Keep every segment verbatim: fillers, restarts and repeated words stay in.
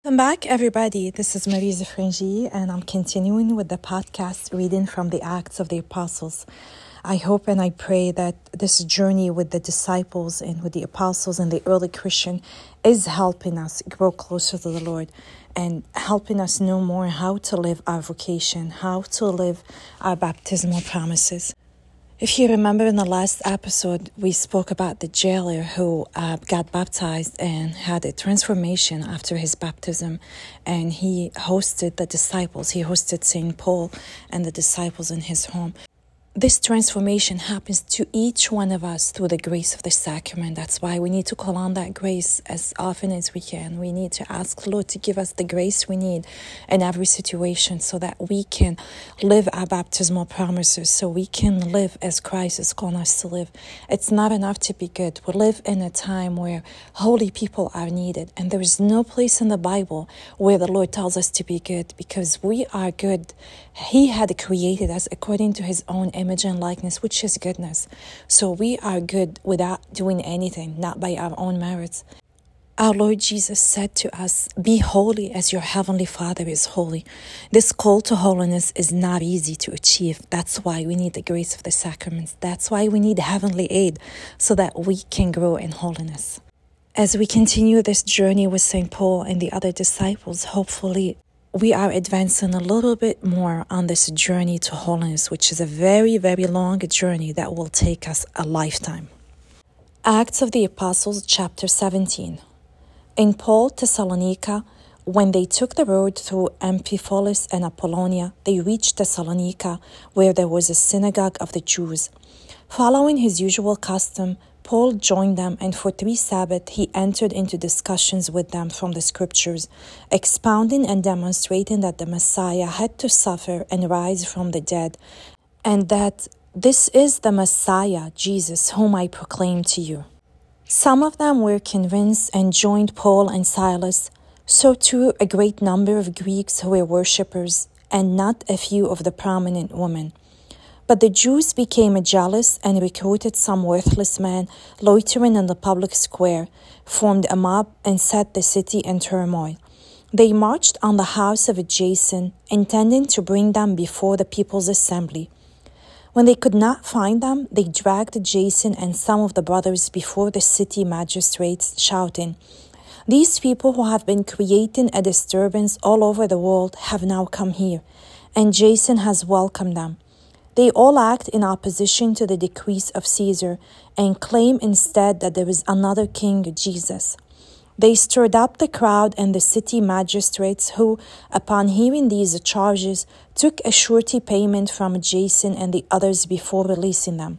Welcome back, everybody. This is Marisa Frangi, and I'm continuing with the podcast reading from the Acts of the Apostles. I hope and I pray that this journey with the disciples and with the apostles and the early Christian is helping us grow closer to the Lord and helping us know more how to live our vocation, how to live our baptismal promises. If you remember in the last episode, we spoke about the jailer who uh, got baptized and had a transformation after his baptism. And he hosted the disciples. He hosted Saint Paul and the disciples in his home. This transformation happens to each one of us through the grace of the sacrament. That's why we need to call on that grace as often as we can. We need to ask the Lord to give us the grace we need in every situation so that we can live our baptismal promises, so we can live as Christ has called us to live. It's not enough to be good. We live in a time where holy people are needed, and there is no place in the Bible where the Lord tells us to be good, because we are good. He had created us according to his own image and likeness, which is goodness. So we are good without doing anything, not by our own merits. Our Lord Jesus said to us, "Be holy as your heavenly Father is holy." This call to holiness is not easy to achieve. That's why we need the grace of the sacraments. That's why we need heavenly aid so that we can grow in holiness. As we continue this journey with Saint Paul and the other disciples, hopefully we are advancing a little bit more on this journey to holiness, which is a very, very long journey that will take us a lifetime. Acts of the Apostles, chapter seventeen. In Paul, Thessalonica, when they took the road through Amphipolis and Apollonia, they reached Thessalonica, where there was a synagogue of the Jews. Following his usual custom, Paul joined them, and for three Sabbaths he entered into discussions with them from the Scriptures, expounding and demonstrating that the Messiah had to suffer and rise from the dead, and that this is the Messiah, Jesus, whom I proclaim to you. Some of them were convinced and joined Paul and Silas, so too a great number of Greeks who were worshippers, and not a few of the prominent women. But the Jews became jealous and recruited some worthless men loitering in the public square, formed a mob, and set the city in turmoil. They marched on the house of Jason, intending to bring them before the people's assembly. When they could not find them, they dragged Jason and some of the brothers before the city magistrates, shouting, "These people who have been creating a disturbance all over the world have now come here, and Jason has welcomed them. They all act in opposition to the decrees of Caesar and claim instead that there is another king, Jesus." They stirred up the crowd and the city magistrates who, upon hearing these charges, took a surety payment from Jason and the others before releasing them.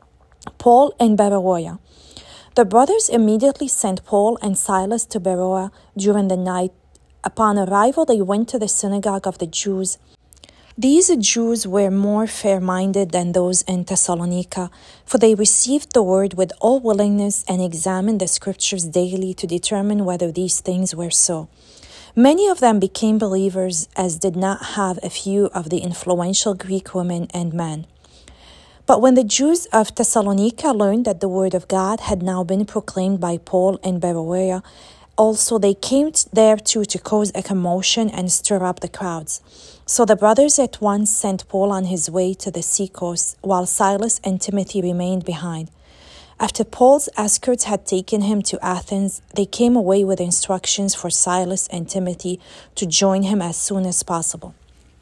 Paul and Beroea. The brothers immediately sent Paul and Silas to Beroea during the night. Upon arrival, they went to the synagogue of the Jews. These Jews were more fair-minded than those in Thessalonica, for they received the word with all willingness and examined the Scriptures daily to determine whether these things were so. Many of them became believers, as did not have a few of the influential Greek women and men. But when the Jews of Thessalonica learned that the word of God had now been proclaimed by Paul and Beroea, also they came there too to cause a commotion and stir up the crowds. So the brothers at once sent Paul on his way to the seacoast, while Silas and Timothy remained behind. After Paul's escorts had taken him to Athens, they came away with instructions for Silas and Timothy to join him as soon as possible.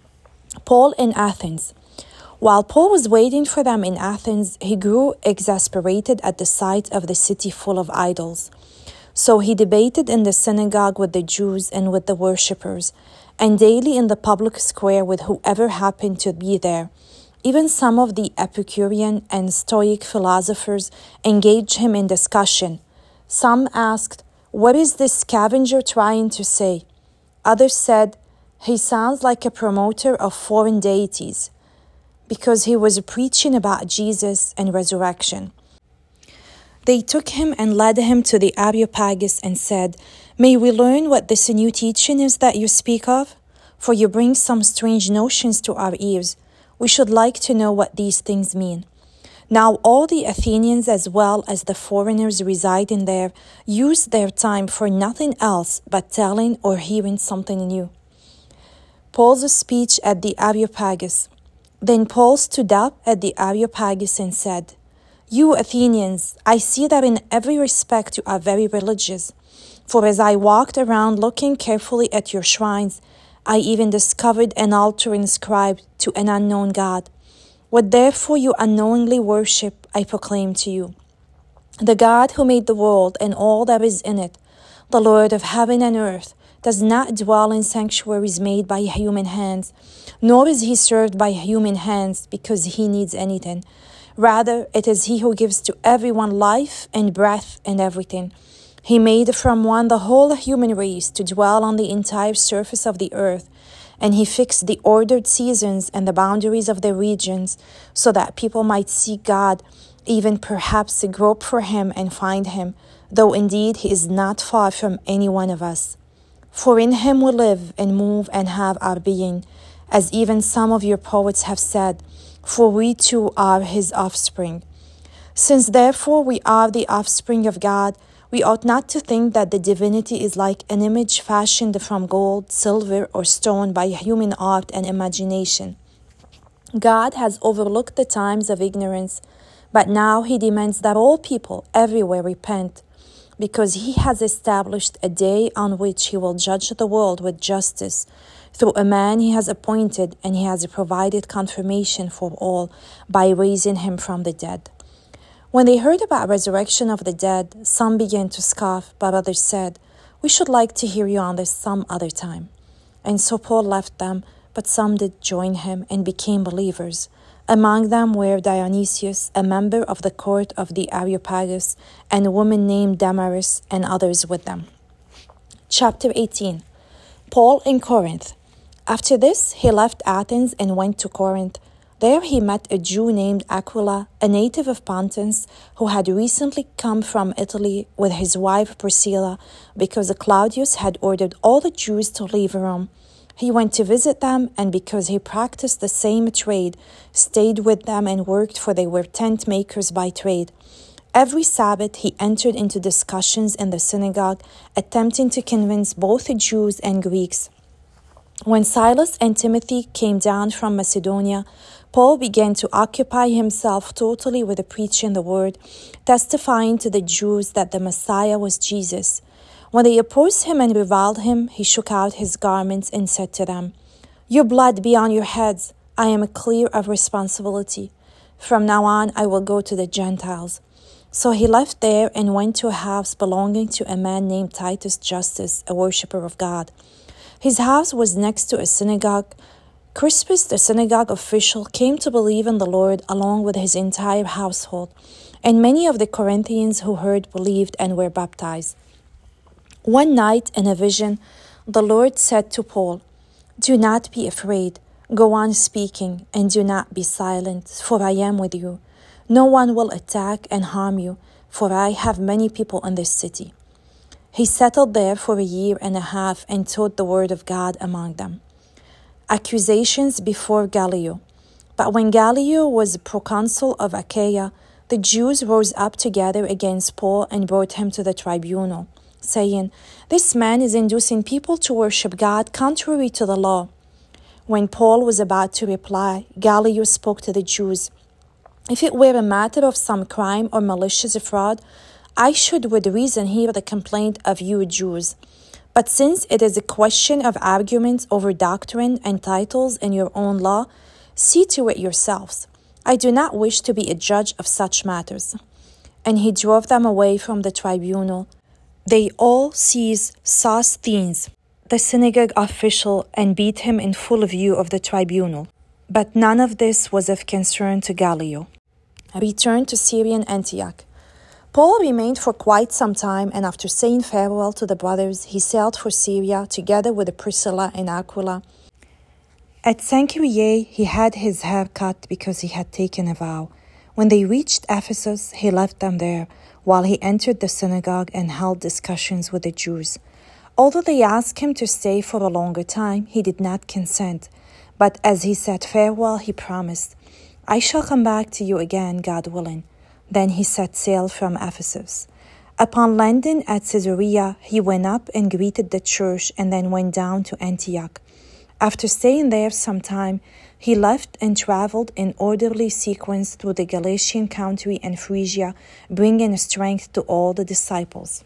Paul in Athens. While Paul was waiting for them in Athens, he grew exasperated at the sight of the city full of idols. So he debated in the synagogue with the Jews and with the worshippers, and daily in the public square with whoever happened to be there. Even some of the Epicurean and Stoic philosophers engaged him in discussion. Some asked, "What is this scavenger trying to say?" Others said, "He sounds like a promoter of foreign deities," because he was preaching about Jesus and resurrection. They took him and led him to the Areopagus and said, "May we learn what this new teaching is that you speak of? For you bring some strange notions to our ears. We should like to know what these things mean." Now all the Athenians as well as the foreigners residing there use their time for nothing else but telling or hearing something new. Paul's speech at the Areopagus. Then Paul stood up at the Areopagus and said, "You Athenians, I see that in every respect you are very religious. For as I walked around looking carefully at your shrines, I even discovered an altar inscribed to an unknown God. What therefore you unknowingly worship, I proclaim to you. The God who made the world and all that is in it, the Lord of heaven and earth, does not dwell in sanctuaries made by human hands, nor is he served by human hands because he needs anything. Rather, it is he who gives to everyone life and breath and everything. He made from one the whole human race to dwell on the entire surface of the earth, and he fixed the ordered seasons and the boundaries of the regions so that people might seek God, even perhaps grope for him and find him, though indeed he is not far from any one of us. For in him we live and move and have our being, as even some of your poets have said, for we too are his offspring. Since therefore we are the offspring of God, we ought not to think that the divinity is like an image fashioned from gold, silver, or stone by human art and imagination. God has overlooked the times of ignorance, but now he demands that all people everywhere repent, because he has established a day on which he will judge the world with justice through a man he has appointed, and he has provided confirmation for all by raising him from the dead. When they heard about resurrection of the dead, some began to scoff, but others said, "We should like to hear you on this some other time." And so Paul left them, but some did join him and became believers. Among them were Dionysius, a member of the court of the Areopagus, and a woman named Damaris, and others with them. Chapter eighteen. Paul in Corinth. After this, he left Athens and went to Corinth. There he met a Jew named Aquila, a native of Pontus, who had recently come from Italy with his wife Priscilla, because Claudius had ordered all the Jews to leave Rome. He went to visit them, and because he practiced the same trade, stayed with them and worked, for they were tent makers by trade. Every Sabbath he entered into discussions in the synagogue, attempting to convince both the Jews and Greeks. When Silas and Timothy came down from Macedonia, Paul began to occupy himself totally with preaching the word, testifying to the Jews that the Messiah was Jesus. When they opposed him and reviled him, he shook out his garments and said to them, "Your blood be on your heads. I am clear of responsibility. From now on I will go to the Gentiles." So he left there and went to a house belonging to a man named Titus Justus, a worshipper of God. His house was next to a synagogue. Crispus, the synagogue official, came to believe in the Lord along with his entire household, and many of the Corinthians who heard believed and were baptized. One night in a vision, the Lord said to Paul, "Do not be afraid. Go on speaking, and do not be silent, for I am with you. No one will attack and harm you, for I have many people in this city." He settled there for a year and a half and taught the word of God among them. Accusations before Gallio. But when Gallio was proconsul of Achaia, the Jews rose up together against Paul and brought him to the tribunal, saying, "This man is inducing people to worship God contrary to the law." When Paul was about to reply, Gallio spoke to the Jews, "If it were a matter of some crime or malicious fraud, I should with reason hear the complaint of you Jews. But since it is a question of arguments over doctrine and titles in your own law, see to it yourselves. I do not wish to be a judge of such matters." And he drove them away from the tribunal. They all seized Sosthenes, the synagogue official, and beat him in full view of the tribunal. But none of this was of concern to Gallio. Return to Syrian Antioch. Paul remained for quite some time, and after saying farewell to the brothers, he sailed for Syria together with Priscilla and Aquila. At Cenchreae, he had his hair cut because he had taken a vow. When they reached Ephesus, he left them there, while he entered the synagogue and held discussions with the Jews. Although they asked him to stay for a longer time, he did not consent. But as he said farewell, he promised, I shall come back to you again, God willing." Then he set sail from Ephesus. Upon landing at Caesarea, he went up and greeted the church and then went down to Antioch. After staying there some time, he left and traveled in orderly sequence through the Galatian country and Phrygia, bringing strength to all the disciples.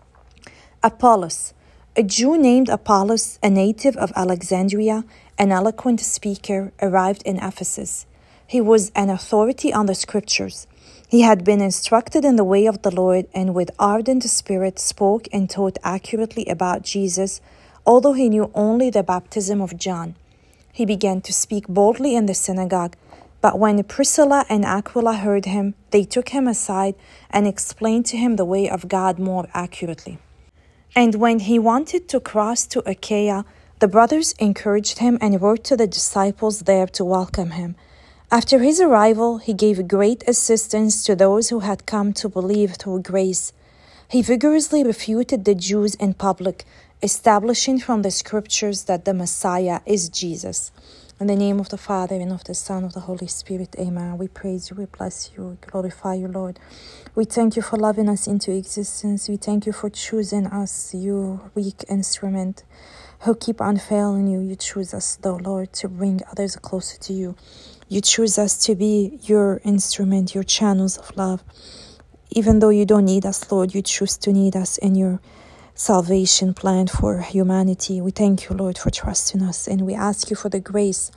Apollos, a Jew named Apollos, a native of Alexandria, an eloquent speaker, arrived in Ephesus. He was an authority on the scriptures. He had been instructed in the way of the Lord and with ardent spirit spoke and taught accurately about Jesus, although he knew only the baptism of John. He began to speak boldly in the synagogue, but when Priscilla and Aquila heard him, they took him aside and explained to him the way of God more accurately. And when he wanted to cross to Achaia, the brothers encouraged him and wrote to the disciples there to welcome him. After his arrival, he gave great assistance to those who had come to believe through grace. He vigorously refuted the Jews in public, establishing from the scriptures that the Messiah is Jesus. In the name of the Father, and of the Son, of the Holy Spirit, amen. We praise you, we bless you, we glorify you, Lord. We thank you for loving us into existence. We thank you for choosing us, you weak instrument who keep on failing you. You choose us, though, Lord, to bring others closer to you. You choose us to be your instrument, your channels of love. Even though you don't need us, Lord, you choose to need us in your salvation plan for humanity. We thank you, Lord, for trusting us, and we ask you for the grace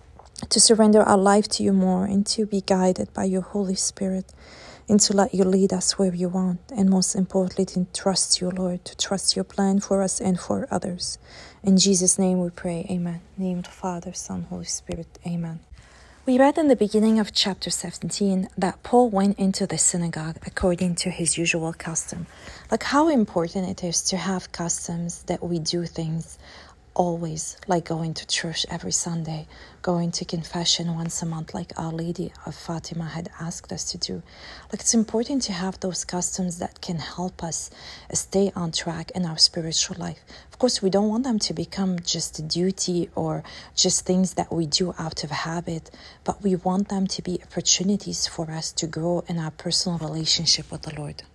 to surrender our life to you more and to be guided by your Holy Spirit and to let you lead us where you want, and most importantly, to trust you, Lord, to trust your plan for us and for others. In Jesus' name we pray, amen. In the name of the Father, Son, Holy Spirit, amen. We read in the beginning of chapter seventeen that Paul went into the synagogue according to his usual custom. Like how important it is to have customs that we do things always, like going to church every Sunday, going to confession once a month like Our Lady of Fatima had asked us to do. Like it's important to have those customs that can help us stay on track in our spiritual life. Of course, we don't want them to become just a duty or just things that we do out of habit, but we want them to be opportunities for us to grow in our personal relationship with the Lord.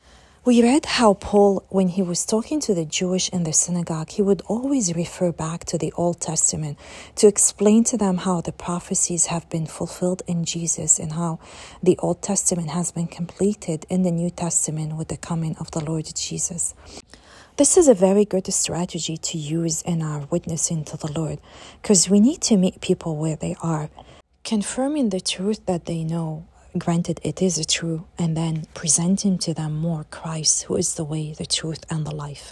We read how Paul, when he was talking to the Jewish in the synagogue, he would always refer back to the Old Testament to explain to them how the prophecies have been fulfilled in Jesus and how the Old Testament has been completed in the New Testament with the coming of the Lord Jesus. This is a very good strategy to use in our witnessing to the Lord, because we need to meet people where they are, confirming the truth that they know. Granted, it is true, and then presenting to them more Christ, who is the way, the truth, and the life.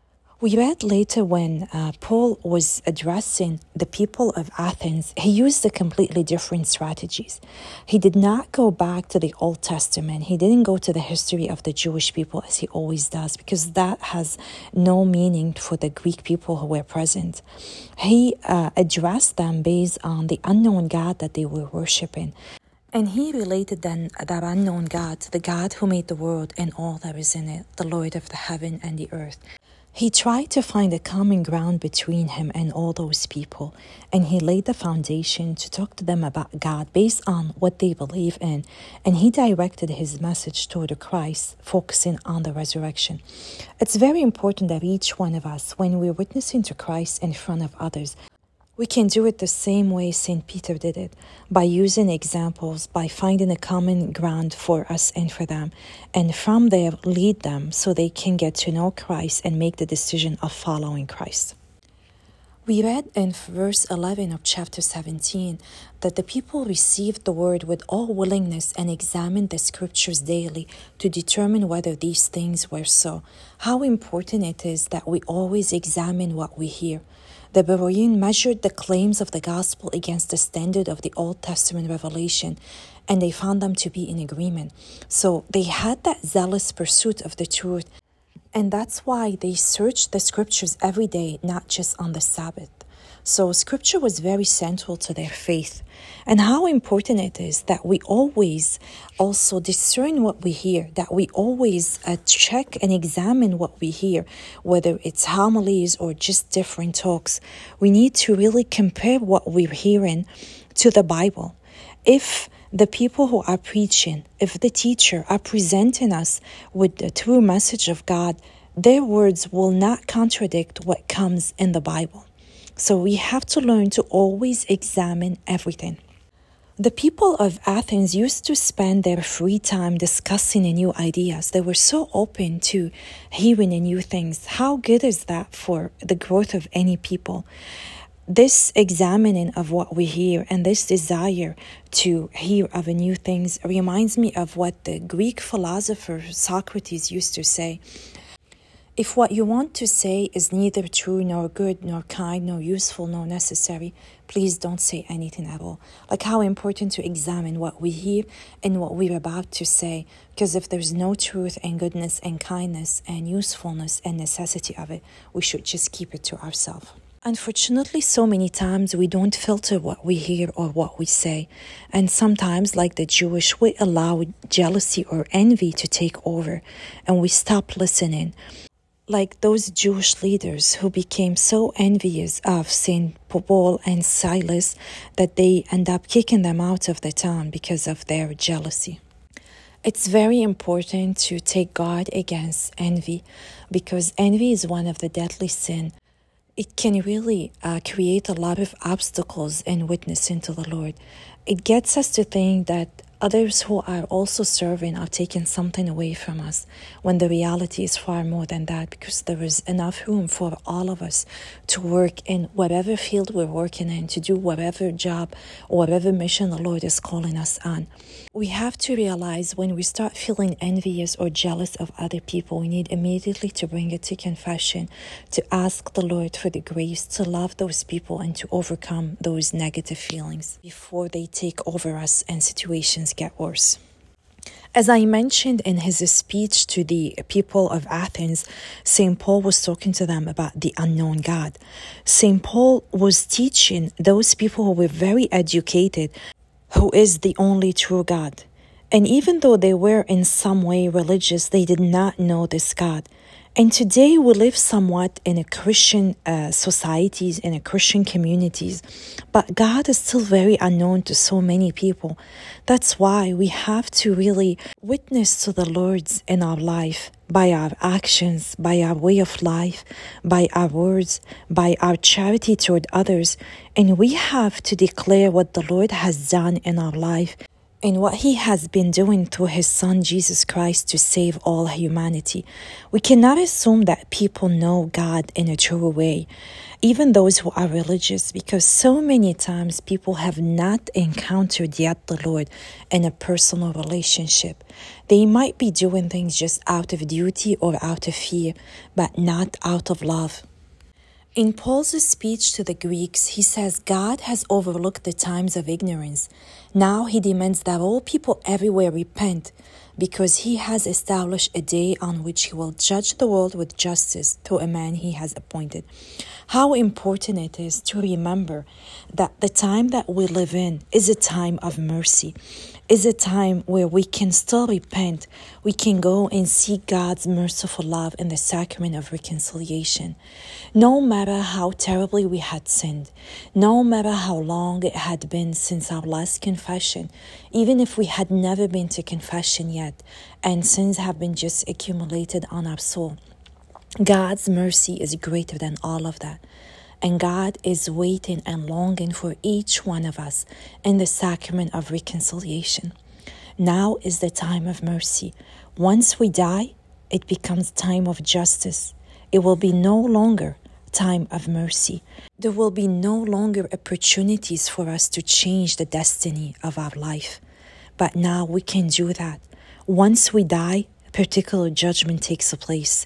We read later when uh, Paul was addressing the people of Athens, he used a completely different strategies. He did not go back to the Old Testament. He didn't go to the history of the Jewish people as he always does, because that has no meaning for the Greek people who were present. He uh, addressed them based on the unknown God that they were worshiping. And he related then that unknown God, the God who made the world and all that is in it, the Lord of the heaven and the earth. He tried to find a common ground between him and all those people, and he laid the foundation to talk to them about God based on what they believe in, and he directed his message toward Christ, focusing on the resurrection. It's very important that each one of us, when we're witnessing to Christ in front of others, we can do it the same way Saint Peter did it, by using examples, by finding a common ground for us and for them, and from there lead them so they can get to know Christ and make the decision of following Christ. We read in verse eleven of chapter seventeen that the people received the word with all willingness and examined the scriptures daily to determine whether these things were so. How important it is that we always examine what we hear. The Beroean measured the claims of the gospel against the standard of the Old Testament revelation, and they found them to be in agreement. So they had that zealous pursuit of the truth, and that's why they searched the scriptures every day, not just on the Sabbath. So scripture was very central to their faith. And how important it is that we always also discern what we hear, that we always uh, check and examine what we hear, whether it's homilies or just different talks. We need to really compare what we're hearing to the Bible. if the people who are preaching, if the teacher are presenting us with the true message of God, their words will not contradict what comes in the Bible. So we have to learn to always examine everything. The people of Athens used to spend their free time discussing new ideas. They were so open to hearing new things. How good is that for the growth of any people? This examining of what we hear and this desire to hear of new things reminds me of what the Greek philosopher Socrates used to say. If what you want to say is neither true nor good nor kind nor useful nor necessary, please don't say anything at all. Like how important to examine what we hear and what we're about to say, because if there's no truth and goodness and kindness and usefulness and necessity of it, we should just keep it to ourselves. Unfortunately, so many times we don't filter what we hear or what we say. And sometimes, like the Jewish, we allow jealousy or envy to take over and we stop listening. Like those Jewish leaders who became so envious of Saint Paul and Silas that they end up kicking them out of the town because of their jealousy. It's very important to take guard against envy, because envy is one of the deadly sins. It can really uh, create a lot of obstacles in witnessing to the Lord. It gets us to think that others who are also serving are taking something away from us, when the reality is far more than that, because there is enough room for all of us to work in whatever field we're working in, to do whatever job or whatever mission the Lord is calling us on. We have to realize when we start feeling envious or jealous of other people, we need immediately to bring it to confession, to ask the Lord for the grace to love those people and to overcome those negative feelings before they take over us and situations get worse. As I mentioned in his speech to the people of Athens, Saint Paul was talking to them about the unknown God. Saint Paul was teaching those people who were very educated who is the only true God. And even though they were in some way religious, they did not know this God. And today we live somewhat in a Christian uh, societies, in a Christian communities, but God is still very unknown to so many people. That's why we have to really witness to the Lord's in our life by our actions, by our way of life, by our words, by our charity toward others. And we have to declare what the Lord has done in our life and what he has been doing through his son Jesus Christ to save all humanity. We cannot assume that people know God in a true way, even those who are religious, because so many times people have not encountered yet the Lord in a personal relationship. They might be doing things just out of duty or out of fear, but not out of love. In Paul's speech to the Greeks, he says God has overlooked the times of ignorance. Now he demands that all people everywhere repent, because he has established a day on which he will judge the world with justice through a man he has appointed. How important it is to remember that the time that we live in is a time of mercy, is a time where we can still repent. We can go and seek God's merciful love in the sacrament of reconciliation. No matter how terribly we had sinned, no matter how long it had been since our last confession, even if we had never been to confession yet, and sins have been just accumulated on our soul, God's mercy is greater than all of that. And God is waiting and longing for each one of us in the sacrament of reconciliation. Now is the time of mercy. Once we die, it becomes time of justice. It will be no longer time of mercy. There will be no longer opportunities for us to change the destiny of our life. But now we can do that. Once we die, a particular judgment takes place.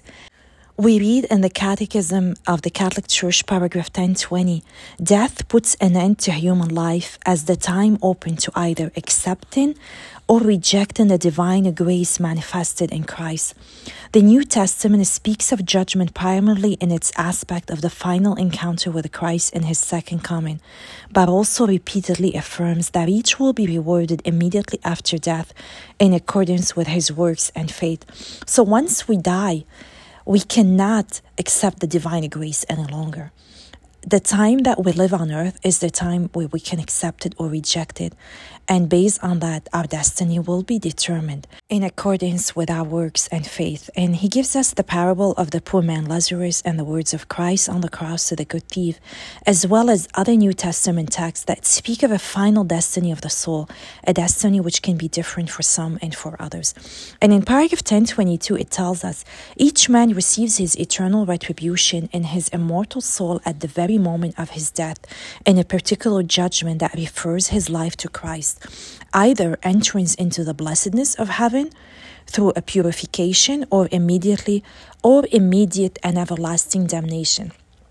We read in the Catechism of the Catholic Church, paragraph ten twenty, death puts an end to human life as the time open to either accepting or rejecting the divine grace manifested in Christ. The New Testament speaks of judgment primarily in its aspect of the final encounter with Christ in his second coming, but also repeatedly affirms that each will be rewarded immediately after death in accordance with his works and faith. So once we die, we cannot accept the divine grace any longer. The time that we live on earth is the time where we can accept it or reject it. And based on that, our destiny will be determined in accordance with our works and faith. And he gives us the parable of the poor man Lazarus and the words of Christ on the cross to the good thief, as well as other New Testament texts that speak of a final destiny of the soul, a destiny which can be different for some and for others. And in paragraph ten twenty-two, it tells us, each man receives his eternal retribution in his immortal soul at the very moment of his death, in a particular judgment that refers his life to Christ, either entrance into the blessedness of heaven through a purification, or immediately or immediate and everlasting damnation.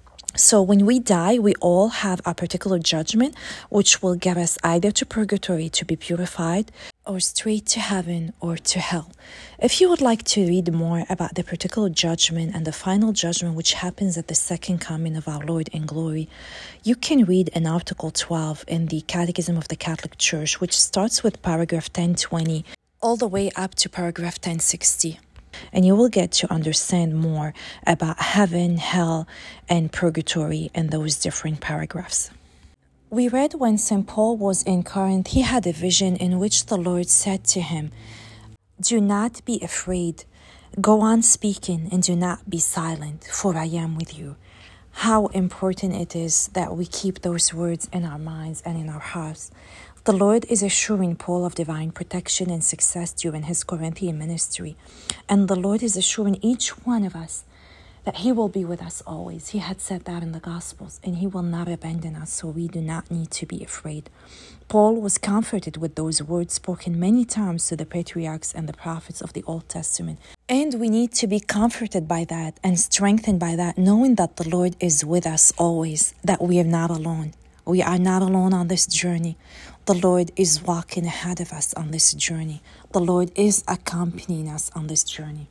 So when we die, we all have a particular judgment, which will get us either to purgatory to be purified, or straight to heaven or to hell. If you would like to read more about the particular judgment and the final judgment which happens at the second coming of our Lord in glory, you can read in Article twelve in the Catechism of the Catholic Church, which starts with paragraph ten twenty all the way up to paragraph ten sixty. And you will get to understand more about heaven, hell, and purgatory in those different paragraphs. We read when Saint Paul was in Corinth, he had a vision in which the Lord said to him, "Do not be afraid. Go on speaking and do not be silent, for I am with you." How important it is that we keep those words in our minds and in our hearts. The Lord is assuring Paul of divine protection and success during his Corinthian ministry. And the Lord is assuring each one of us that he will be with us always. He had said that in the Gospels, and he will not abandon us, so we do not need to be afraid. Paul was comforted with those words spoken many times to the patriarchs and the prophets of the Old Testament. And we need to be comforted by that and strengthened by that, knowing that the Lord is with us always, that we are not alone. We are not alone on this journey. The Lord is walking ahead of us on this journey. The Lord is accompanying us on this journey.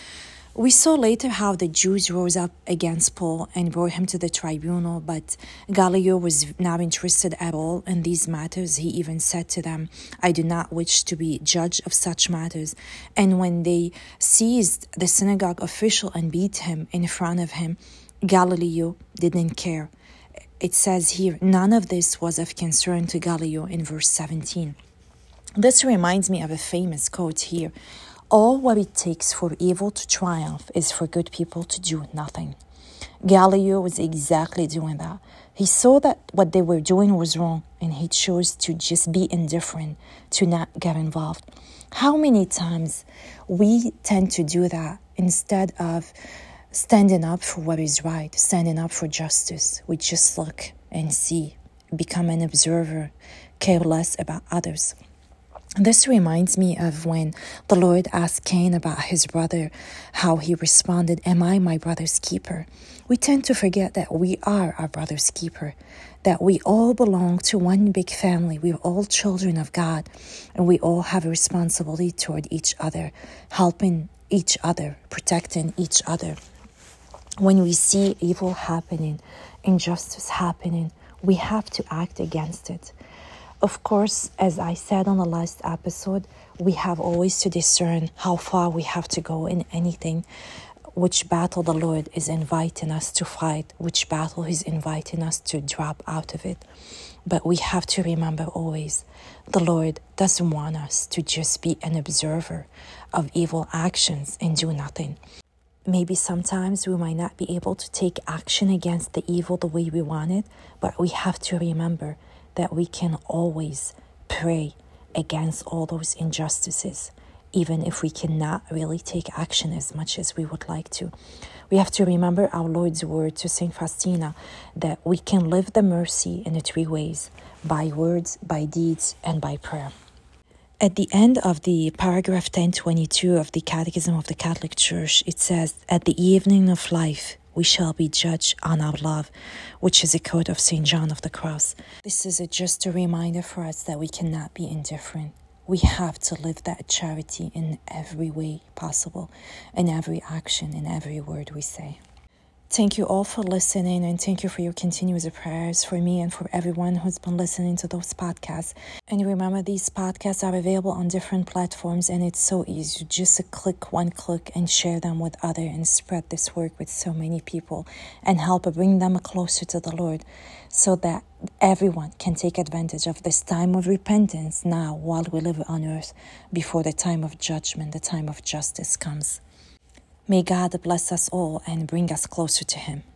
We saw later how the Jews rose up against Paul and brought him to the tribunal, but Gallio was not interested at all in these matters. He even said to them, "I do not wish to be judge of such matters." And when they seized the synagogue official and beat him in front of him, Gallio didn't care. It says here, none of this was of concern to Gallio in verse seventeen. This reminds me of a famous quote here. All what it takes for evil to triumph is for good people to do nothing. Gallio was exactly doing that. He saw that what they were doing was wrong, and he chose to just be indifferent, to not get involved. How many times we tend to do that instead of standing up for what is right, standing up for justice? We just look and see, become an observer, care less about others. This reminds me of when the Lord asked Cain about his brother, how he responded, "Am I my brother's keeper?" We tend to forget that we are our brother's keeper, that we all belong to one big family. We're all children of God, and we all have a responsibility toward each other, helping each other, protecting each other. When we see evil happening, injustice happening, we have to act against it. Of course, as I said on the last episode, we have always to discern how far we have to go in anything, which battle the Lord is inviting us to fight, which battle He's inviting us to drop out of it. But we have to remember always, the Lord doesn't want us to just be an observer of evil actions and do nothing. Maybe sometimes we might not be able to take action against the evil the way we want it, but we have to remember that we can always pray against all those injustices, even if we cannot really take action as much as we would like to. We have to remember our Lord's word to Saint Faustina that we can live the mercy in the three ways: by words, by deeds, and by prayer. At the end of the paragraph ten twenty-two of the Catechism of the Catholic Church, it says, "At the evening of life, we shall be judged on our love," which is a quote of Saint John of the Cross. This is a, just a reminder for us that we cannot be indifferent. We have to live that charity in every way possible, in every action, in every word we say. Thank you all for listening, and thank you for your continuous prayers for me and for everyone who's been listening to those podcasts. And remember, these podcasts are available on different platforms, and it's so easy. Just click one click and share them with others and spread this work with so many people and help bring them closer to the Lord, so that everyone can take advantage of this time of repentance now while we live on earth, before the time of judgment, the time of justice comes. May God bless us all and bring us closer to Him.